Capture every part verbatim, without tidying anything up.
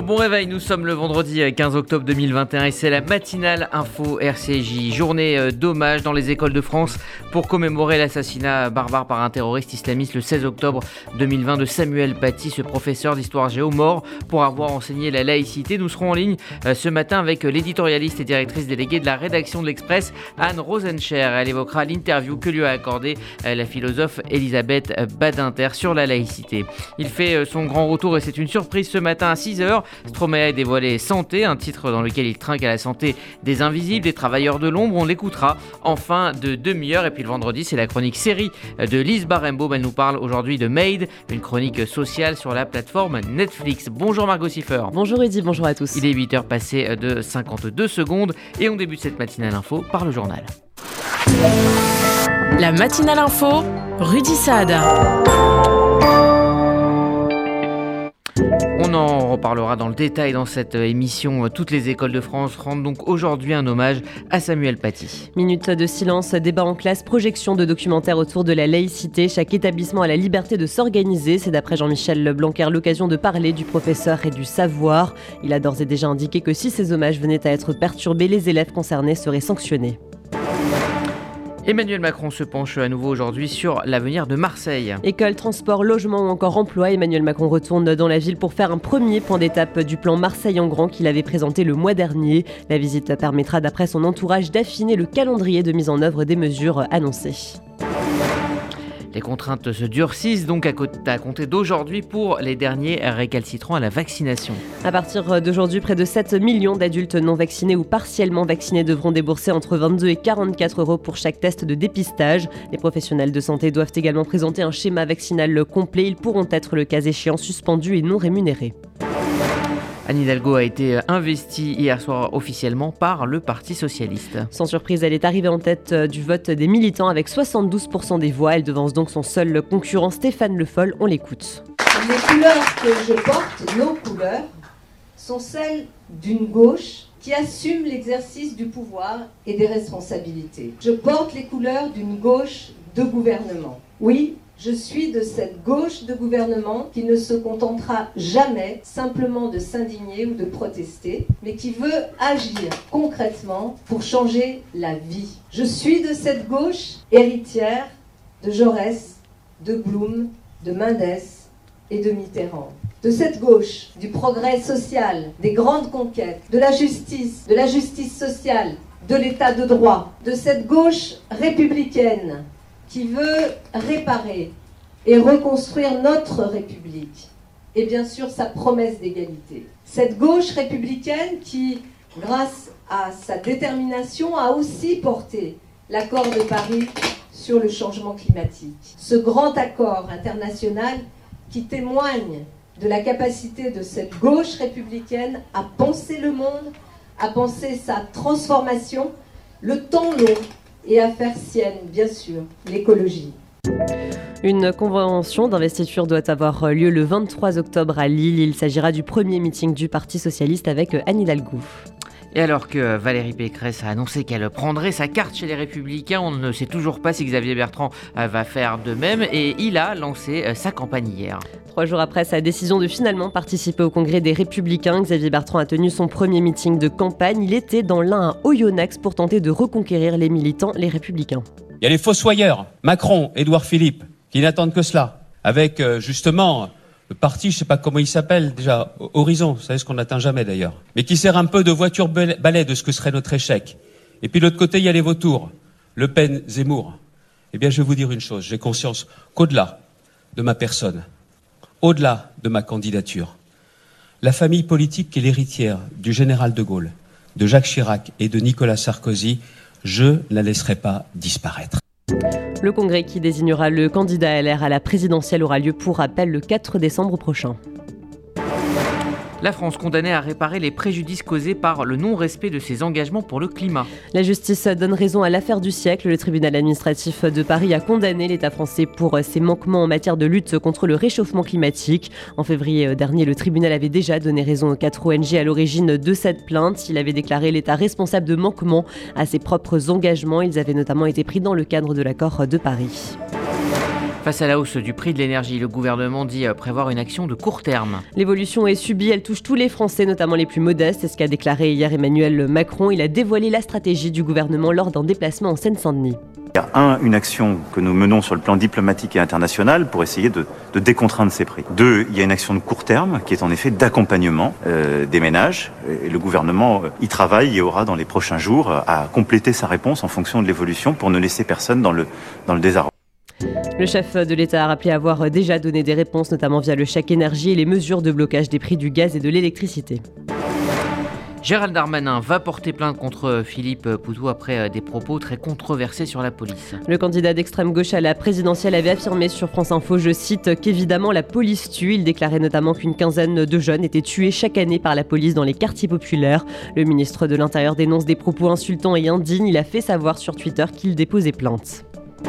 bon réveil, nous sommes le vendredi quinze octobre deux mille vingt et un et c'est la matinale info R C J. Journée d'hommage dans les écoles de France pour commémorer l'assassinat barbare par un terroriste islamiste le seize octobre deux mille vingt de Samuel Paty, ce professeur d'histoire géo mort pour avoir enseigné la laïcité. Nous serons en ligne ce matin avec l'éditorialiste et directrice déléguée de la rédaction de l'Express, Anne Rosencher. Elle évoquera l'interview que lui a accordée la philosophe Elisabeth Badinter sur la laïcité. Il fait son grand retour et c'est une surprise ce matin à six heures. Stromae a dévoilé Santé, un titre dans lequel il trinque à la santé des invisibles, des travailleurs de l'ombre. On l'écoutera en fin de demi-heure. Et puis le vendredi, c'est la chronique série de Lise Barembaum. Elle nous parle aujourd'hui de Made, une chronique sociale sur la plateforme Netflix. Bonjour Margot Siffer. Bonjour Eddy, bonjour à tous. Il est huit heures passées de cinquante-deux secondes et on débute cette matinale info par le journal. La matinale info, Rudy Saad. On en reparlera dans le détail dans cette émission. Toutes les écoles de France rendent donc aujourd'hui un hommage à Samuel Paty. Minute de silence, débat en classe, projection de documentaires autour de la laïcité. Chaque établissement a la liberté de s'organiser. C'est d'après Jean-Michel Blanquer l'occasion de parler du professeur et du savoir. Il a d'ores et déjà indiqué que si ces hommages venaient à être perturbés, les élèves concernés seraient sanctionnés. Emmanuel Macron se penche à nouveau aujourd'hui sur l'avenir de Marseille. École, transport, logement ou encore emploi, Emmanuel Macron retourne dans la ville pour faire un premier point d'étape du plan Marseille en grand qu'il avait présenté le mois dernier. La visite permettra d'après son entourage d'affiner le calendrier de mise en œuvre des mesures annoncées. Les contraintes se durcissent donc à compter d'aujourd'hui pour les derniers récalcitrants à la vaccination. À partir d'aujourd'hui, près de sept millions d'adultes non vaccinés ou partiellement vaccinés devront débourser entre vingt-deux et quarante-quatre euros pour chaque test de dépistage. Les professionnels de santé doivent également présenter un schéma vaccinal complet. Ils pourront être, le cas échéant, suspendus et non rémunérés. Anne Hidalgo a été investie hier soir officiellement par le Parti Socialiste. Sans surprise, elle est arrivée en tête du vote des militants avec soixante-douze pour cent des voix. Elle devance donc son seul concurrent Stéphane Le Foll. On l'écoute. Les couleurs que je porte, nos couleurs, sont celles d'une gauche qui assume l'exercice du pouvoir et des responsabilités. Je porte les couleurs d'une gauche de gouvernement. Oui, je suis de cette gauche de gouvernement qui ne se contentera jamais simplement de s'indigner ou de protester, mais qui veut agir concrètement pour changer la vie. Je suis de cette gauche héritière de Jaurès, de Blum, de Mendès et de Mitterrand. De cette gauche du progrès social, des grandes conquêtes, de la justice, de la justice sociale, de l'état de droit. De cette gauche républicaine qui veut réparer et reconstruire notre République et bien sûr sa promesse d'égalité. Cette gauche républicaine qui, grâce à sa détermination, a aussi porté l'accord de Paris sur le changement climatique. Ce grand accord international qui témoigne de la capacité de cette gauche républicaine à penser le monde, à penser sa transformation, le temps long, et à faire sienne, bien sûr, l'écologie. Une convention d'investiture doit avoir lieu le vingt-trois octobre à Lille. Il s'agira du premier meeting du Parti Socialiste avec Anne Hidalgo. Et alors que Valérie Pécresse a annoncé qu'elle prendrait sa carte chez les Républicains, on ne sait toujours pas si Xavier Bertrand va faire de même et il a lancé sa campagne hier. Trois jours après sa décision de finalement participer au congrès des Républicains, Xavier Bertrand a tenu son premier meeting de campagne. Il était dans l'Ain à Oyonnax pour tenter de reconquérir les militants, les Républicains. Il y a les fossoyeurs, Macron, Édouard Philippe, qui n'attendent que cela, avec euh, justement le parti, je ne sais pas comment il s'appelle déjà, Horizon, vous savez ce qu'on n'atteint jamais d'ailleurs, mais qui sert un peu de voiture balai de ce que serait notre échec. Et puis de l'autre côté, il y a les vautours, Le Pen, Zemmour. Eh bien, je vais vous dire une chose, j'ai conscience qu'au-delà de ma personne, au-delà de ma candidature, la famille politique qui est l'héritière du général de Gaulle, de Jacques Chirac et de Nicolas Sarkozy, je ne la laisserai pas disparaître. Le congrès qui désignera le candidat L R à la présidentielle aura lieu pour rappel le quatre décembre prochain. La France condamnée à réparer les préjudices causés par le non-respect de ses engagements pour le climat. La justice donne raison à l'affaire du siècle. Le tribunal administratif de Paris a condamné l'État français pour ses manquements en matière de lutte contre le réchauffement climatique. En février dernier, le tribunal avait déjà donné raison aux quatre O N G à l'origine de cette plainte. Il avait déclaré l'État responsable de manquements à ses propres engagements. Ils avaient notamment été pris dans le cadre de l'accord de Paris. Face à la hausse du prix de l'énergie, le gouvernement dit prévoir une action de court terme. L'évolution est subie, elle touche tous les Français, notamment les plus modestes. C'est ce qu'a déclaré hier Emmanuel Macron. Il a dévoilé la stratégie du gouvernement lors d'un déplacement en Seine-Saint-Denis. Il y a un, une action que nous menons sur le plan diplomatique et international pour essayer de, de décontraindre ces prix. Deux, il y a une action de court terme qui est en effet d'accompagnement euh, des ménages. Et le gouvernement y travaille et aura dans les prochains jours à compléter sa réponse en fonction de l'évolution pour ne laisser personne dans le, dans le désarroi. Le chef de l'État a rappelé avoir déjà donné des réponses, notamment via le chèque énergie et les mesures de blocage des prix du gaz et de l'électricité. Gérald Darmanin va porter plainte contre Philippe Poutou après des propos très controversés sur la police. Le candidat d'extrême gauche à la présidentielle avait affirmé sur France Info, je cite, qu'évidemment la police tue. Il déclarait notamment qu'une quinzaine de jeunes étaient tués chaque année par la police dans les quartiers populaires. Le ministre de l'Intérieur dénonce des propos insultants et indignes. Il a fait savoir sur Twitter qu'il déposait plainte.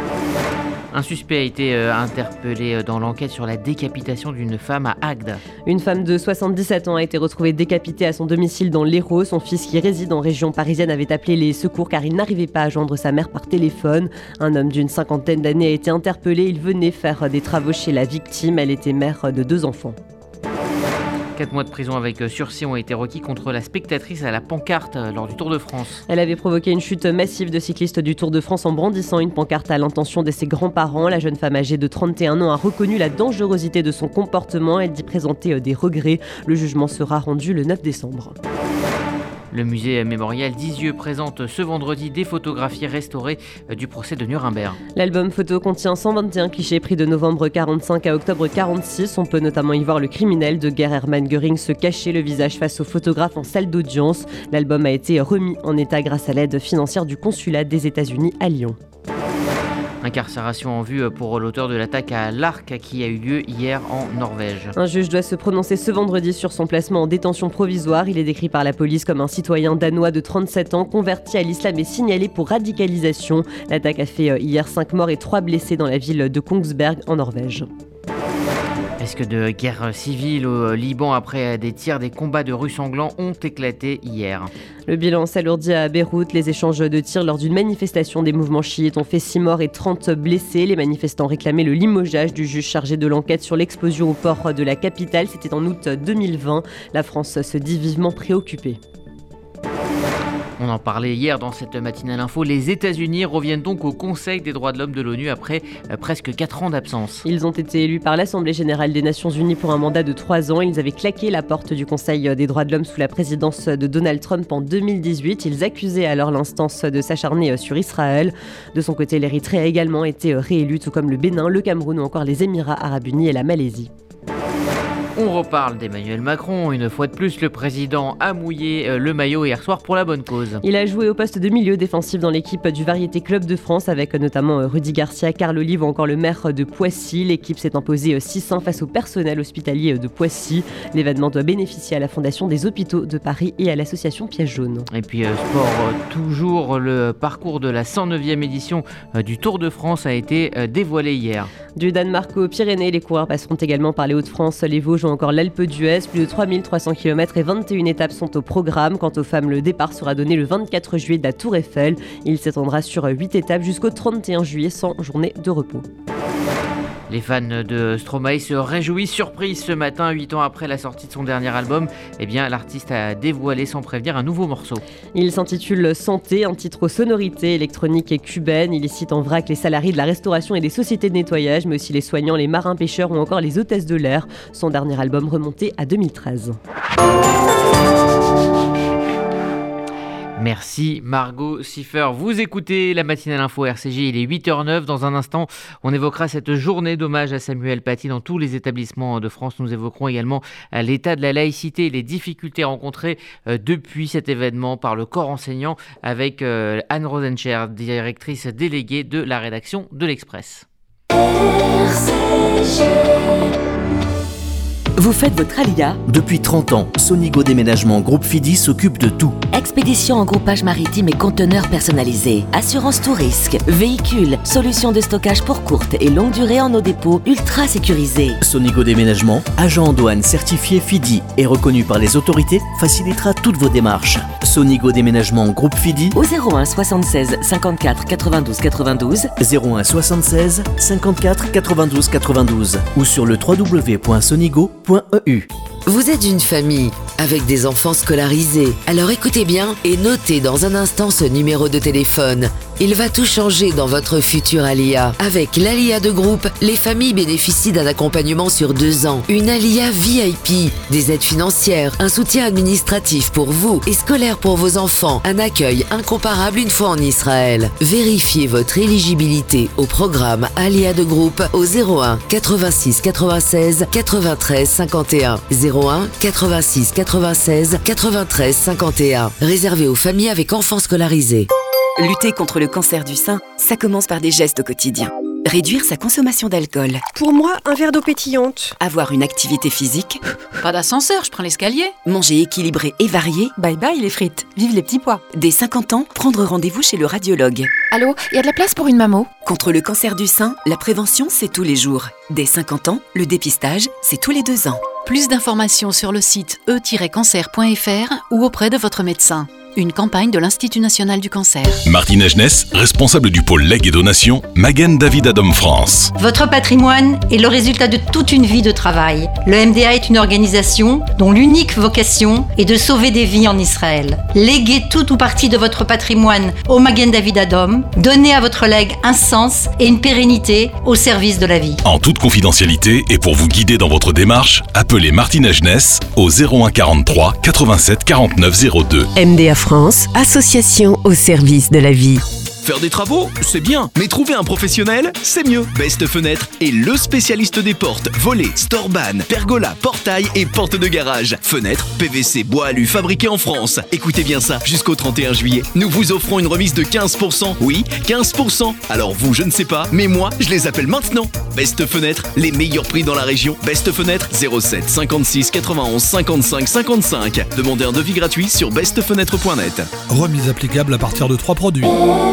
Un suspect a été euh, interpellé dans l'enquête sur la décapitation d'une femme à Agde. Une femme de soixante-dix-sept ans a été retrouvée décapitée à son domicile dans l'Hérault. Son fils qui réside en région parisienne avait appelé les secours car il n'arrivait pas à joindre sa mère par téléphone. Un homme d'une cinquantaine d'années a été interpellé. Il venait faire des travaux chez la victime. Elle était mère de deux enfants. Quatre mois de prison avec sursis ont été requis contre la spectatrice à la pancarte lors du Tour de France. Elle avait provoqué une chute massive de cyclistes du Tour de France en brandissant une pancarte à l'intention de ses grands-parents. La jeune femme âgée de trente et un ans a reconnu la dangerosité de son comportement. Elle dit présenter des regrets. Le jugement sera rendu le neuf décembre. Le musée mémorial d'Isieux présente ce vendredi des photographies restaurées du procès de Nuremberg. L'album photo contient cent vingt et un clichés pris de novembre quarante-cinq à octobre quarante-six. On peut notamment y voir le criminel de guerre Hermann Göring se cacher le visage face aux photographes en salle d'audience. L'album a été remis en état grâce à l'aide financière du consulat des États-Unis à Lyon. Incarcération en vue pour l'auteur de l'attaque à l'Arc qui a eu lieu hier en Norvège. Un juge doit se prononcer ce vendredi sur son placement en détention provisoire. Il est décrit par la police comme un citoyen danois de trente-sept ans converti à l'islam et signalé pour radicalisation. L'attaque a fait hier cinq morts et trois blessés dans la ville de Kongsberg en Norvège. Risque de guerre civile au Liban après des tirs, des combats de Russes sanglants ont éclaté hier. Le bilan s'alourdit à Beyrouth. Les échanges de tirs lors d'une manifestation des mouvements chiites ont fait six morts et trente blessés. Les manifestants réclamaient le limogeage du juge chargé de l'enquête sur l'explosion au port de la capitale. C'était en août deux mille vingt. La France se dit vivement préoccupée. On en parlait hier dans cette matinale info. Les États-Unis reviennent donc au Conseil des droits de l'homme de l'ONU après euh, presque quatre ans d'absence. Ils ont été élus par l'Assemblée générale des Nations unies pour un mandat de trois ans. Ils avaient claqué la porte du Conseil des droits de l'homme sous la présidence de Donald Trump en deux mille dix-huit. Ils accusaient alors l'instance de s'acharner sur Israël. De son côté, l'Érythrée a également été réélue, tout comme le Bénin, le Cameroun ou encore les Émirats arabes unis et la Malaisie. On reparle d'Emmanuel Macron. Une fois de plus, le président a mouillé le maillot hier soir pour la bonne cause. Il a joué au poste de milieu défensif dans l'équipe du Variété Club de France avec notamment Rudy Garcia, Carl Olive ou encore le maire de Poissy. L'équipe s'est imposée six un face au personnel hospitalier de Poissy. L'événement doit bénéficier à la Fondation des Hôpitaux de Paris et à l'association Piège Jaune. Et puis euh, sport, euh, toujours le parcours de la cent neuvième édition euh, du Tour de France a été euh, dévoilé hier. Du Danemark aux Pyrénées, les coureurs passeront également par les Hauts-de-France, les Vosges ou encore l'Alpe d'Huez. Plus de trois mille trois cents kilomètres et vingt et une étapes sont au programme. Quant aux femmes, le départ sera donné le vingt-quatre juillet de la Tour Eiffel. Il s'étendra sur huit étapes jusqu'au trente et un juillet sans journée de repos. Les fans de Stromae se réjouissent, surprise ce matin, huit ans après la sortie de son dernier album. Eh bien, l'artiste a dévoilé sans prévenir un nouveau morceau. Il s'intitule Santé, un titre aux sonorités électroniques et cubaines. Il y cite en vrac les salariés de la restauration et des sociétés de nettoyage, mais aussi les soignants, les marins pêcheurs ou encore les hôtesses de l'air. Son dernier album remonté à deux mille treize. Merci Margot Siffer. Vous écoutez la matinale info R C J, il est huit heures zéro neuf. Dans un instant, on évoquera cette journée d'hommage à Samuel Paty dans tous les établissements de France. Nous évoquerons également l'état de la laïcité et les difficultés rencontrées depuis cet événement par le corps enseignant avec Anne Rosencher, directrice déléguée de la rédaction de l'Express. R C J. Vous faites votre alia? Depuis trente ans, Sonigo Déménagement Groupe Fidi s'occupe de tout. Expédition en groupage maritime et conteneurs personnalisés. Assurance tout risque. Véhicules. Solutions de stockage pour courte et longue durée en nos dépôts ultra sécurisés. Sonigo Déménagement, agent en douane certifié Fidi et reconnu par les autorités, facilitera toutes vos démarches. Sonigo Déménagement Groupe Fidi au zéro un soixante-seize cinquante-quatre quatre-vingt-douze quatre-vingt-douze, zéro un soixante-seize cinquante-quatre quatre-vingt-douze quatre-vingt-douze ou sur le w w w point sonigo point e u. Vous êtes une famille avec des enfants scolarisés. Alors écoutez bien et notez dans un instant ce numéro de téléphone. Il va tout changer dans votre futur A L I A. Avec l'A L I A de groupe, les familles bénéficient d'un accompagnement sur deux ans, une A L I A V I P, des aides financières, un soutien administratif pour vous et scolaire pour vos enfants, un accueil incomparable une fois en Israël. Vérifiez votre éligibilité au programme A L I A de groupe au zéro un quatre-vingt-six quatre-vingt-seize quatre-vingt-treize cinquante et un. zéro un quatre-vingt-six quatre-vingt-seize quatre-vingt-treize cinquante et un. Réservé aux familles avec enfants scolarisés. Lutter contre le cancer du sein, ça commence par des gestes au quotidien. Réduire sa consommation d'alcool. Pour moi, un verre d'eau pétillante. Avoir une activité physique. Pas d'ascenseur, je prends l'escalier. Manger équilibré et varié. Bye bye les frites, vive les petits pois. Dès cinquante ans, prendre rendez-vous chez le radiologue. Allô, il y a de la place pour une mammo? Contre le cancer du sein, la prévention, c'est tous les jours. Dès cinquante ans, le dépistage, c'est tous les deux ans. Plus d'informations sur le site e tiret cancer point f r ou auprès de votre médecin. Une campagne de l'Institut national du cancer. Martine Agenès, responsable du pôle legs et donations, Magen David Adom France. Votre patrimoine est le résultat de toute une vie de travail. Le M D A est une organisation dont l'unique vocation est de sauver des vies en Israël. Léguez tout ou partie de votre patrimoine au Magen David Adom. Donnez à votre legs un sens et une pérennité au service de la vie. En toute confidentialité et pour vous guider dans votre démarche, appelez Martine Agenès au zéro un quarante-trois quatre-vingt-sept quarante-neuf zéro deux. M D A France, association au service de la vie. Faire des travaux, c'est bien, mais trouver un professionnel, c'est mieux. Best Fenêtre est le spécialiste des portes, volets, storban, pergola, portail et portes de garage. Fenêtres, P V C, bois alu, fabriqués en France. Écoutez bien ça, jusqu'au trente et un juillet, nous vous offrons une remise de quinze pour cent. Oui, quinze pour cent. Alors vous, je ne sais pas, mais moi, je les appelle maintenant. Best Fenêtre, les meilleurs prix dans la région. Best Fenêtre, zéro sept cinquante-six quatre-vingt-onze cinquante-cinq cinquante-cinq. Demandez un devis gratuit sur best fenêtre point net. Remise applicable à partir de trois produits.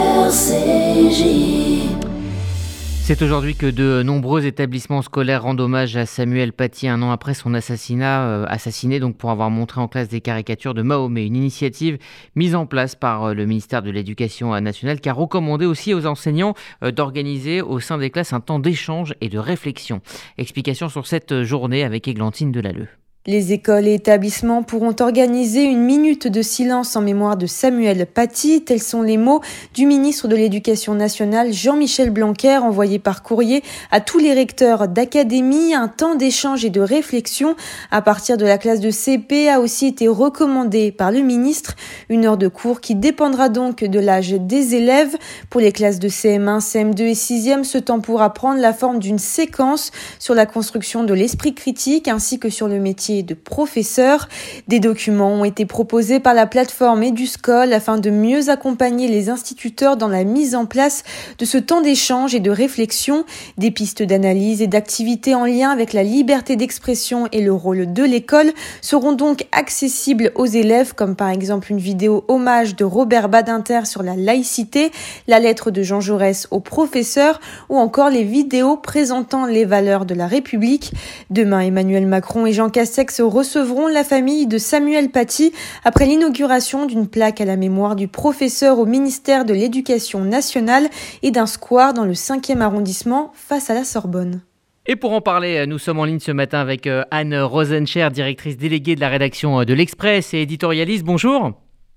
C'est aujourd'hui que de nombreux établissements scolaires rendent hommage à Samuel Paty un an après son assassinat, euh, assassiné donc pour avoir montré en classe des caricatures de Mahomet. Une initiative mise en place par le ministère de l'Éducation nationale qui a recommandé aussi aux enseignants euh, d'organiser au sein des classes un temps d'échange et de réflexion. Explication sur cette journée avec Églantine Delalleux. Les écoles et établissements pourront organiser une minute de silence en mémoire de Samuel Paty. Tels sont les mots du ministre de l'Éducation nationale Jean-Michel Blanquer envoyé par courrier à tous les recteurs d'académie. Un temps d'échange et de réflexion à partir de la classe de C P a aussi été recommandé par le ministre. Une heure de cours qui dépendra donc de l'âge des élèves. Pour les classes de C M un, C M deux et sixième, ce temps pourra prendre la forme d'une séquence sur la construction de l'esprit critique ainsi que sur le métier de professeurs. Des documents ont été proposés par la plateforme EduScol afin de mieux accompagner les instituteurs dans la mise en place de ce temps d'échange et de réflexion. Des pistes d'analyse et d'activités en lien avec la liberté d'expression et le rôle de l'école seront donc accessibles aux élèves, comme par exemple une vidéo hommage de Robert Badinter sur la laïcité, la lettre de Jean Jaurès aux professeurs ou encore les vidéos présentant les valeurs de la République. Demain, Emmanuel Macron et Jean Castex recevront la famille de Samuel Paty après l'inauguration d'une plaque à la mémoire du professeur au ministère de l'Éducation nationale et d'un square dans le cinquième arrondissement face à la Sorbonne. Et pour en parler, nous sommes en ligne ce matin avec Anne Rosencher, directrice déléguée de la rédaction de l'Express et éditorialiste. Bonjour.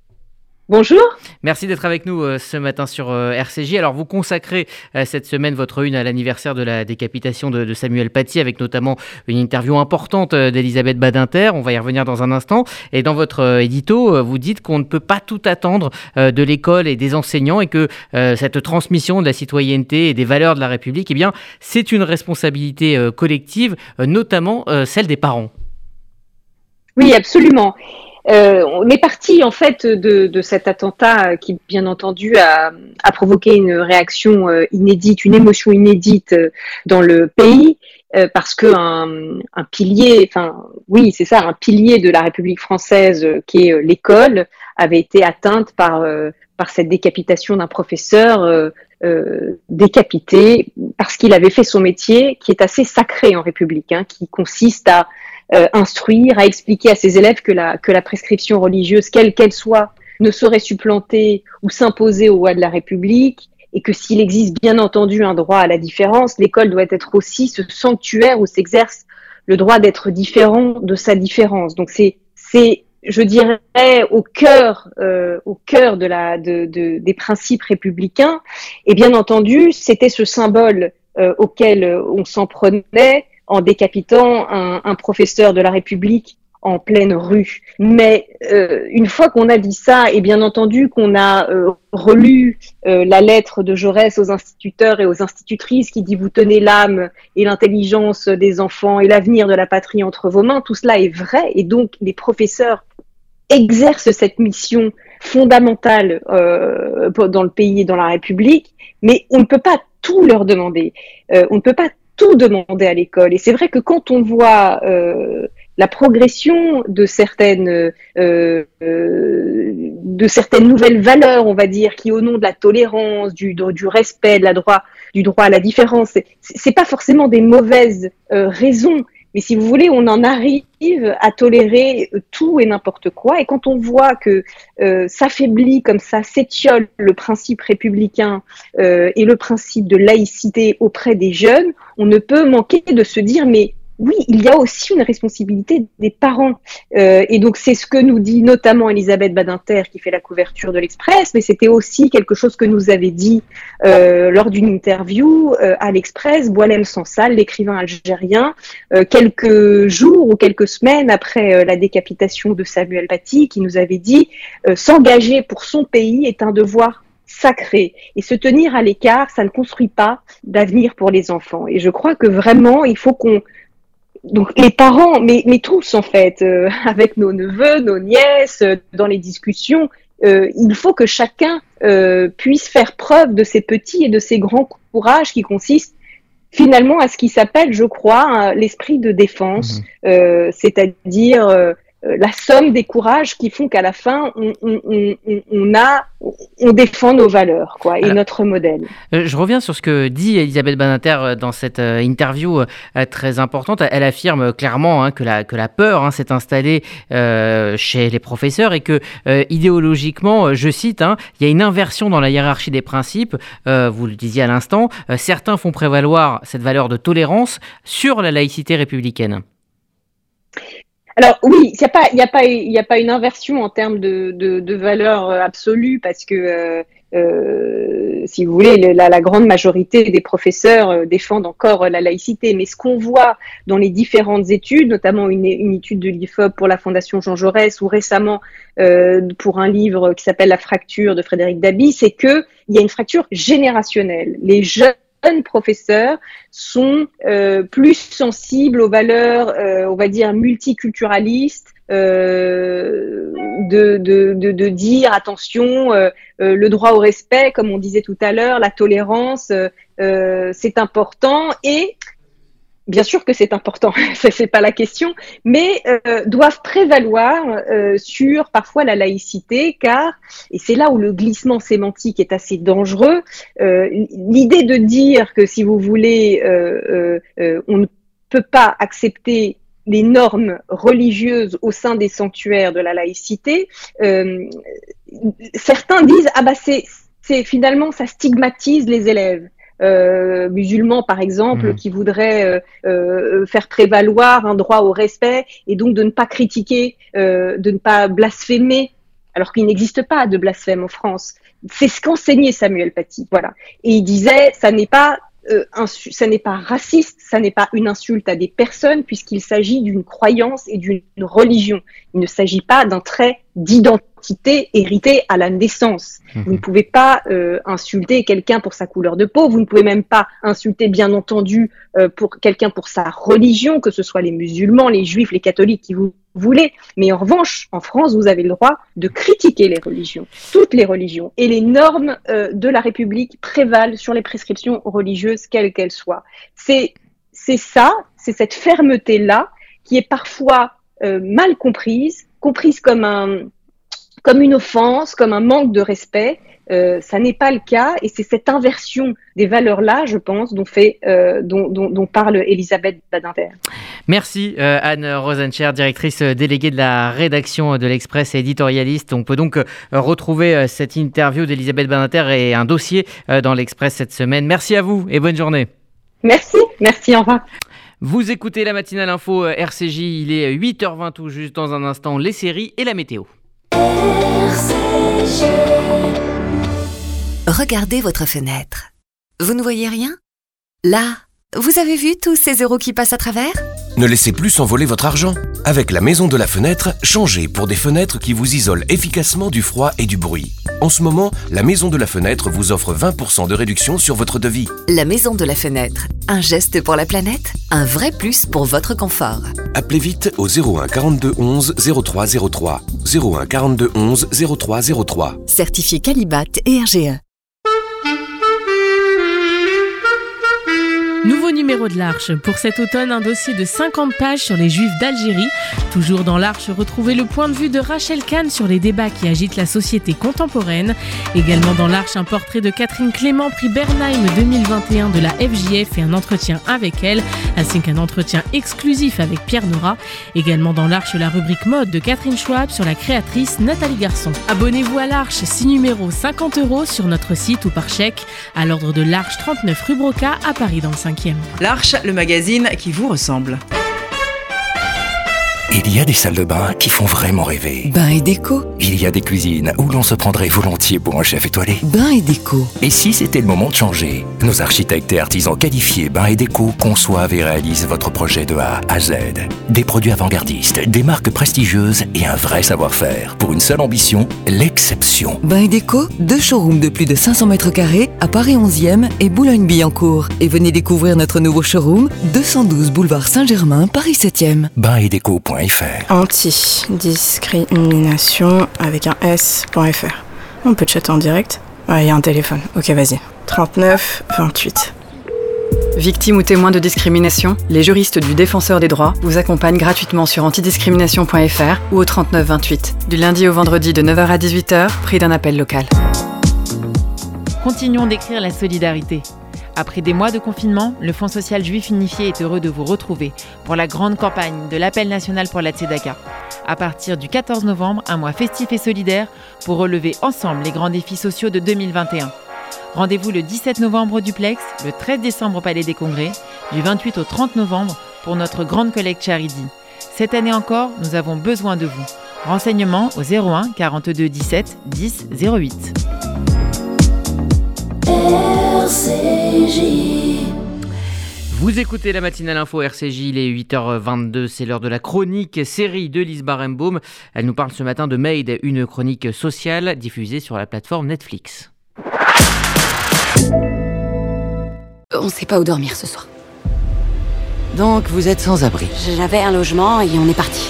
Bonjour. Merci d'être avec nous euh, ce matin sur euh, R C J. Alors, vous consacrez euh, cette semaine votre une à l'anniversaire de la décapitation de, de Samuel Paty, avec notamment une interview importante euh, d'Elisabeth Badinter. On va y revenir dans un instant. Et dans votre euh, édito, euh, vous dites qu'on ne peut pas tout attendre euh, de l'école et des enseignants et que euh, cette transmission de la citoyenneté et des valeurs de la République, eh bien, c'est une responsabilité euh, collective, euh, notamment euh, celle des parents. Oui, absolument. Euh, on est parti en fait de, de cet attentat qui, bien entendu, a, a provoqué une réaction euh, inédite, une émotion inédite euh, dans le pays, euh, parce que un, un pilier, enfin oui, c'est ça, un pilier de la République française, euh, qui est euh, l'école, avait été atteinte par euh, par cette décapitation d'un professeur euh, euh, décapité parce qu'il avait fait son métier, qui est assez sacré en République, hein, qui consiste à Euh, instruire, à expliquer à ses élèves que la, que la prescription religieuse, quelle qu'elle soit, ne saurait supplanter ou s'imposer aux lois de la République, et que s'il existe bien entendu un droit à la différence, l'école doit être aussi ce sanctuaire où s'exerce le droit d'être différent de sa différence. Donc c'est, c'est, je dirais, au cœur, euh, au cœur de la, de, de, des principes républicains. Et bien entendu, c'était ce symbole euh, auquel on s'en prenait en décapitant un, un professeur de la République en pleine rue. Mais euh, une fois qu'on a dit ça, et bien entendu qu'on a euh, relu euh, la lettre de Jaurès aux instituteurs et aux institutrices qui dit « Vous tenez l'âme et l'intelligence des enfants et l'avenir de la patrie entre vos mains », tout cela est vrai, et donc les professeurs exercent cette mission fondamentale euh, dans le pays et dans la République, mais on ne peut pas tout leur demander. Euh, on ne peut pas tout demander à l'école. Et c'est vrai que quand on voit euh, la progression de certaines euh, euh, de certaines nouvelles valeurs, on va dire, qui au nom de la tolérance, du, du respect, de la droit, du droit à la différence, c'est, c'est pas forcément des mauvaises euh, raisons, mais si vous voulez, on en arrive à tolérer tout et n'importe quoi. Et quand on voit que euh, s'affaiblit comme ça, s'étiole le principe républicain euh, et le principe de laïcité auprès des jeunes, on ne peut manquer de se dire, mais oui, il y a aussi une responsabilité des parents. Euh, et donc, c'est ce que nous dit notamment Elisabeth Badinter, qui fait la couverture de l'Express, mais c'était aussi quelque chose que nous avait dit euh, lors d'une interview euh, à l'Express, Boualem Sansal, l'écrivain algérien, euh, quelques jours ou quelques semaines après euh, la décapitation de Samuel Paty, qui nous avait dit euh, « S'engager pour son pays est un devoir sacré. Et se tenir à l'écart, ça ne construit pas d'avenir pour les enfants. » Et je crois que vraiment, il faut qu'on Donc les parents, mais, mais tous en fait, euh, avec nos neveux, nos nièces, euh, dans les discussions, euh, il faut que chacun euh, puisse faire preuve de ses petits et de ses grands courages qui consistent finalement à ce qui s'appelle, je crois, hein, l'esprit de défense, mmh. euh, c'est-à-dire euh, la somme des courages qui font qu'à la fin, on, on, on, on a, on défend nos valeurs, quoi, et Alors, notre modèle. Je reviens sur ce que dit Elisabeth Badinter dans cette interview très importante. Elle affirme clairement hein, que, la, que la peur hein, s'est installée euh, chez les professeurs et que euh, idéologiquement, je cite, hein, il y a une inversion dans la hiérarchie des principes. Euh, vous le disiez à l'instant, euh, certains font prévaloir cette valeur de tolérance sur la laïcité républicaine. Alors oui, il n'y a pas, il y a pas, il y a pas une inversion en termes de, de, de valeur absolue parce que, euh, euh, si vous voulez, la, la grande majorité des professeurs défendent encore la laïcité. Mais ce qu'on voit dans les différentes études, notamment une, une étude de l'I F O P pour la Fondation Jean Jaurès ou récemment euh, pour un livre qui s'appelle La fracture de Frédéric Dabi, c'est que il y a une fracture générationnelle. Les jeunes jeunes professeurs sont euh, plus sensibles aux valeurs, euh, on va dire, multiculturalistes, euh, de, de, de, de dire, attention, euh, euh, le droit au respect, comme on disait tout à l'heure, la tolérance, euh, euh, c'est important et bien sûr que c'est important, ça c'est pas la question, mais euh, doivent prévaloir euh, sur parfois la laïcité, car, et c'est là où le glissement sémantique est assez dangereux, euh, l'idée de dire que si vous voulez, euh, euh, euh, on ne peut pas accepter les normes religieuses au sein des sanctuaires de la laïcité, euh, certains disent ah bah c'est, c'est finalement ça stigmatise les élèves. Euh, musulmans par exemple, mmh. qui voudraient euh, euh, faire prévaloir un droit au respect et donc de ne pas critiquer, euh, de ne pas blasphémer, alors qu'il n'existe pas de blasphème en France. C'est ce qu'enseignait Samuel Paty, voilà. Et il disait, ça n'est pas euh, insu- ça n'est pas raciste, ça n'est pas une insulte à des personnes puisqu'il s'agit d'une croyance et d'une religion. Il ne s'agit pas d'un trait d'identité héritée à la naissance. Mmh. Vous ne pouvez pas euh, insulter quelqu'un pour sa couleur de peau, vous ne pouvez même pas insulter, bien entendu, euh, pour quelqu'un pour sa religion, que ce soit les musulmans, les juifs, les catholiques qui vous voulez. Mais en revanche, en France, vous avez le droit de critiquer les religions, toutes les religions. Et les normes euh, de la République prévalent sur les prescriptions religieuses, quelles qu'elles soient. C'est, c'est ça, c'est cette fermeté-là qui est parfois euh, mal comprise, comprise comme un, comme une offense, comme un manque de respect. Euh, ça n'est pas le cas, et c'est cette inversion des valeurs-là, je pense, dont, fait, euh, dont, dont, dont parle Elisabeth Badinter. Merci euh, Anne Rosencher, directrice déléguée de la rédaction de l'Express et éditorialiste. On peut donc euh, retrouver euh, cette interview d'Elisabeth Badinter et un dossier euh, dans l'Express cette semaine. Merci à vous et bonne journée. Merci, merci, au revoir. Vous écoutez la matinale info R C J, il est huit heures vingt tout juste. Dans un instant, les séries et la météo. R C J. Regardez votre fenêtre. Vous ne voyez rien ? Là, vous avez vu tous ces euros qui passent à travers ? Ne laissez plus s'envoler votre argent. Avec la Maison de la Fenêtre, changez pour des fenêtres qui vous isolent efficacement du froid et du bruit. En ce moment, la Maison de la Fenêtre vous offre vingt pour cent de réduction sur votre devis. La Maison de la Fenêtre. Un geste pour la planète, un vrai plus pour votre confort. Appelez vite au zéro un quarante-deux onze zéro trois zéro trois. zéro un quarante-deux onze zéro trois zéro trois. Certifié Qualibat et R G E. Nouveau numéro de l'Arche. Pour cet automne, un dossier de cinquante pages sur les Juifs d'Algérie. Toujours dans l'Arche, retrouvez le point de vue de Rachel Kahn sur les débats qui agitent la société contemporaine. Également dans l'Arche, un portrait de Catherine Clément, prix Bernheim deux mille vingt et un de la F J F et un entretien avec elle, ainsi qu'un entretien exclusif avec Pierre Nora. Également dans l'Arche, la rubrique mode de Catherine Schwab sur la créatrice Nathalie Garçon. Abonnez-vous à l'Arche, six numéros, cinquante euros sur notre site ou par chèque, à l'ordre de l'Arche trente-neuf rue Broca à Paris dans le cinquième. L'Arche, le magazine qui vous ressemble. Il y a des salles de bain qui font vraiment rêver. Bain et déco. Il y a des cuisines où l'on se prendrait volontiers pour un chef étoilé. Bain et déco. Et si c'était le moment de changer ? Nos architectes et artisans qualifiés Bain et déco conçoivent et réalisent votre projet de A à Z. Des produits avant-gardistes, des marques prestigieuses et un vrai savoir-faire. Pour une seule ambition, l'exception. Bain et déco, deux showrooms de plus de cinq cents mètres carrés à Paris onzième et Boulogne-Billancourt. Et venez découvrir notre nouveau showroom, deux cent douze boulevard Saint-Germain, Paris septième. bain et déco point f r. Anti-discrimination avec un S.fr. On peut chatter en direct. Ah, il y a un téléphone. Ok, vas-y. trente-neuf vingt-huit. Victime ou témoin de discrimination, les juristes du Défenseur des droits vous accompagnent gratuitement sur antidiscrimination point f r ou au trente-neuf vingt-huit. Du lundi au vendredi de neuf heures à dix-huit heures, prix d'un appel local. Continuons d'écrire la solidarité. Après des mois de confinement, le Fonds social juif unifié est heureux de vous retrouver pour la grande campagne de l'appel national pour la Tzedaka. À partir du quatorze novembre, un mois festif et solidaire pour relever ensemble les grands défis sociaux de deux mille vingt et un. Rendez-vous le dix-sept novembre au Duplex, le treize décembre au Palais des Congrès, du vingt-huit au trente novembre pour notre grande collecte Charity. Cette année encore, nous avons besoin de vous. Renseignements au zéro un quarante-deux dix-sept dix zéro huit. R C J. Vous écoutez la matinale info R C J, il est huit heures vingt-deux, c'est l'heure de la chronique série de Lise Barenbaum. Elle nous parle ce matin de Made, une chronique sociale diffusée sur la plateforme Netflix. On sait pas où dormir ce soir. Donc vous êtes sans abri. J'avais un logement et on est parti.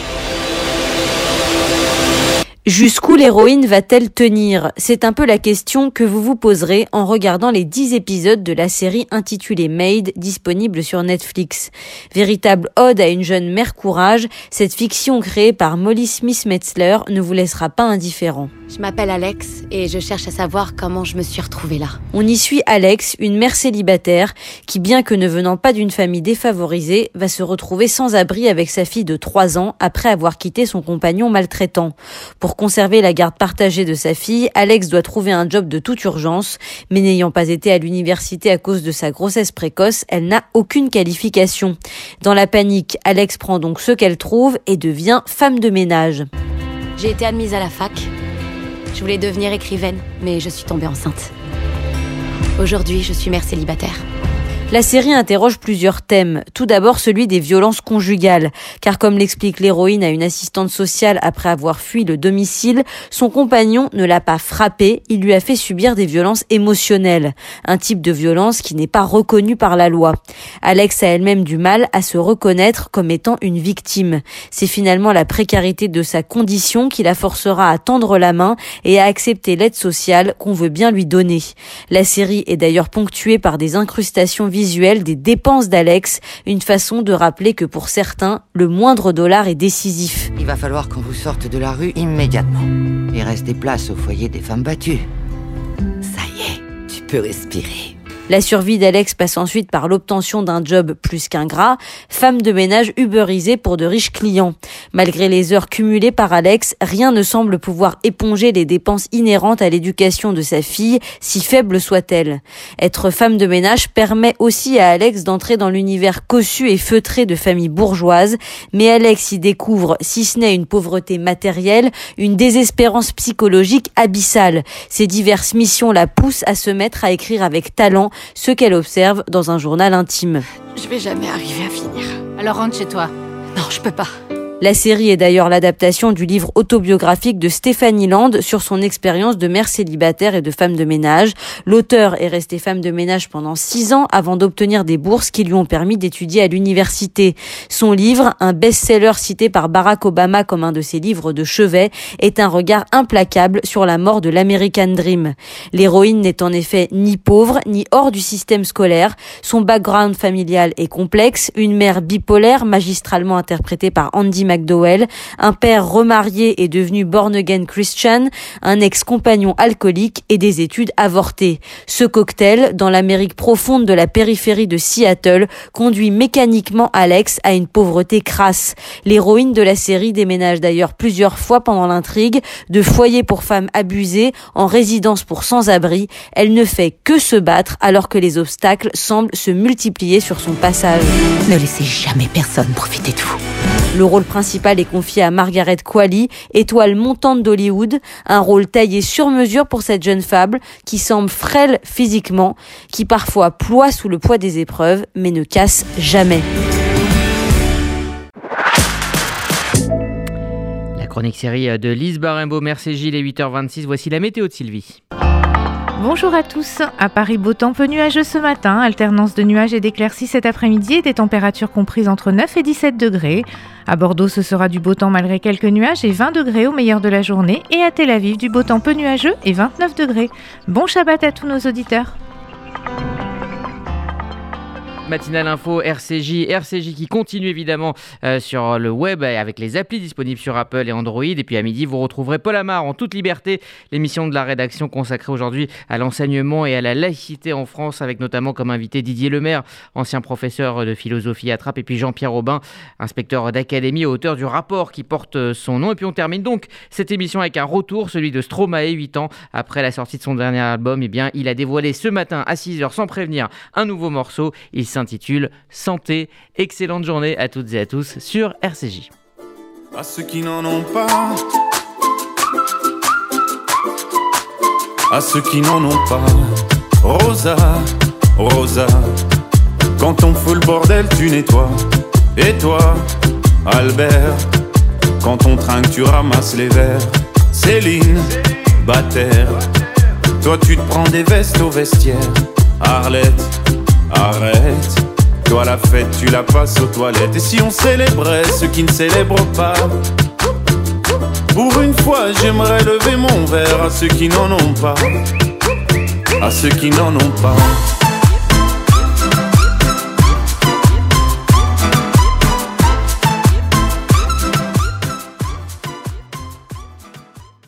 Jusqu'où l'héroïne va-t-elle tenir ? C'est un peu la question que vous vous poserez en regardant les dix épisodes de la série intitulée Made, disponible sur Netflix. Véritable ode à une jeune mère courage, cette fiction créée par Molly Smith-Metzler ne vous laissera pas indifférent. Je m'appelle Alex et je cherche à savoir comment je me suis retrouvée là. On y suit Alex, une mère célibataire qui, bien que ne venant pas d'une famille défavorisée, va se retrouver sans abri avec sa fille de trois ans après avoir quitté son compagnon maltraitant. Pour conserver la garde partagée de sa fille, Alex doit trouver un job de toute urgence, mais n'ayant pas été à l'université à cause de sa grossesse précoce, elle n'a aucune qualification. Dans la panique, Alex prend donc ce qu'elle trouve et devient femme de ménage. J'ai été admise à la fac. Je voulais devenir écrivaine, mais je suis tombée enceinte. Aujourd'hui, je suis mère célibataire. La série interroge plusieurs thèmes. Tout d'abord celui des violences conjugales, car comme l'explique l'héroïne à une assistante sociale après avoir fui le domicile, son compagnon ne l'a pas frappée, il lui a fait subir des violences émotionnelles, un type de violence qui n'est pas reconnu par la loi. Alex a elle-même du mal à se reconnaître comme étant une victime. C'est finalement la précarité de sa condition qui la forcera à tendre la main et à accepter l'aide sociale qu'on veut bien lui donner. La série est d'ailleurs ponctuée par des incrustations visuelles visuel des dépenses d'Alex, une façon de rappeler que pour certains, le moindre dollar est décisif. Il va falloir qu'on vous sorte de la rue immédiatement. Il reste des places au foyer des femmes battues. Ça y est, tu peux respirer. La survie d'Alex passe ensuite par l'obtention d'un job plus qu'ingrat, femme de ménage uberisée pour de riches clients. Malgré les heures cumulées par Alex, rien ne semble pouvoir éponger les dépenses inhérentes à l'éducation de sa fille, si faible soit-elle. Être femme de ménage permet aussi à Alex d'entrer dans l'univers cossu et feutré de familles bourgeoises, mais Alex y découvre, si ce n'est une pauvreté matérielle, une désespérance psychologique abyssale. Ses diverses missions la poussent à se mettre à écrire avec talent ce qu'elle observe dans un journal intime. Je vais jamais arriver à finir. Alors rentre chez toi. Non, je peux pas. La série est d'ailleurs l'adaptation du livre autobiographique de Stéphanie Land sur son expérience de mère célibataire et de femme de ménage. L'auteur est restée femme de ménage pendant six ans avant d'obtenir des bourses qui lui ont permis d'étudier à l'université. Son livre, un best-seller cité par Barack Obama comme un de ses livres de chevet, est un regard implacable sur la mort de l'American Dream. L'héroïne n'est en effet ni pauvre, ni hors du système scolaire. Son background familial est complexe, une mère bipolaire magistralement interprétée par Andy McDowell, un père remarié et devenu born-again Christian, un ex-compagnon alcoolique et des études avortées. Ce cocktail, dans l'Amérique profonde de la périphérie de Seattle, conduit mécaniquement Alex à une pauvreté crasse. L'héroïne de la série déménage d'ailleurs plusieurs fois pendant l'intrigue, de foyer pour femmes abusées en résidence pour sans-abri. Elle ne fait que se battre alors que les obstacles semblent se multiplier sur son passage. Ne laissez jamais personne profiter de vous. Le rôle principal est confié à Margaret Qualley, étoile montante d'Hollywood, un rôle taillé sur mesure pour cette jeune femme qui semble frêle physiquement, qui parfois ploie sous le poids des épreuves, mais ne casse jamais. La chronique série de Lise Barimbaud, merci Gilles, et huit heures vingt-six, voici la météo de Sylvie. Bonjour à tous. À Paris, beau temps peu nuageux ce matin, alternance de nuages et d'éclaircies cet après-midi et des températures comprises entre neuf et dix-sept degrés. À Bordeaux, ce sera du beau temps malgré quelques nuages et vingt degrés au meilleur de la journée. Et à Tel Aviv, du beau temps peu nuageux et vingt-neuf degrés. Bon Shabbat à tous nos auditeurs. Matinale info R C J, R C J qui continue évidemment euh, sur le web avec les applis disponibles sur Apple et Android. Et puis à midi, vous retrouverez Paul Amar en toute liberté, l'émission de la rédaction consacrée aujourd'hui à l'enseignement et à la laïcité en France, avec notamment comme invité Didier Lemaire, ancien professeur de philosophie à Trappes, et puis Jean-Pierre Aubin, inspecteur d'académie, auteur du rapport qui porte son nom. Et puis on termine donc cette émission avec un retour, celui de Stromae, huit ans après la sortie de son dernier album. Eh bien, il a dévoilé ce matin à six heures sans prévenir un nouveau morceau. Il s'intitule Santé. Excellente journée à toutes et à tous sur R C J. À ceux qui n'en ont pas, à ceux qui n'en ont pas, Rosa, Rosa, quand on fout le bordel tu nettoies. Et toi, Albert, quand on trinque tu ramasses les verres. Céline, Bataire, toi tu te prends des vestes au vestiaire. Arlette, arrête, toi la fête tu la passes aux toilettes. Et si on célébrait ceux qui ne célèbrent pas, pour une fois j'aimerais lever mon verre à ceux qui n'en ont pas, à ceux qui n'en ont pas.